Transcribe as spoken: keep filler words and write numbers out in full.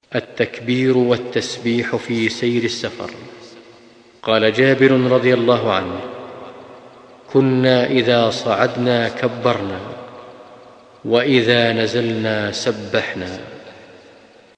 التكبير والتسبيح في سير السفر. قال جابر رضي الله عنه: كنا إذا صعدنا كبرنا، وإذا نزلنا سبحنا.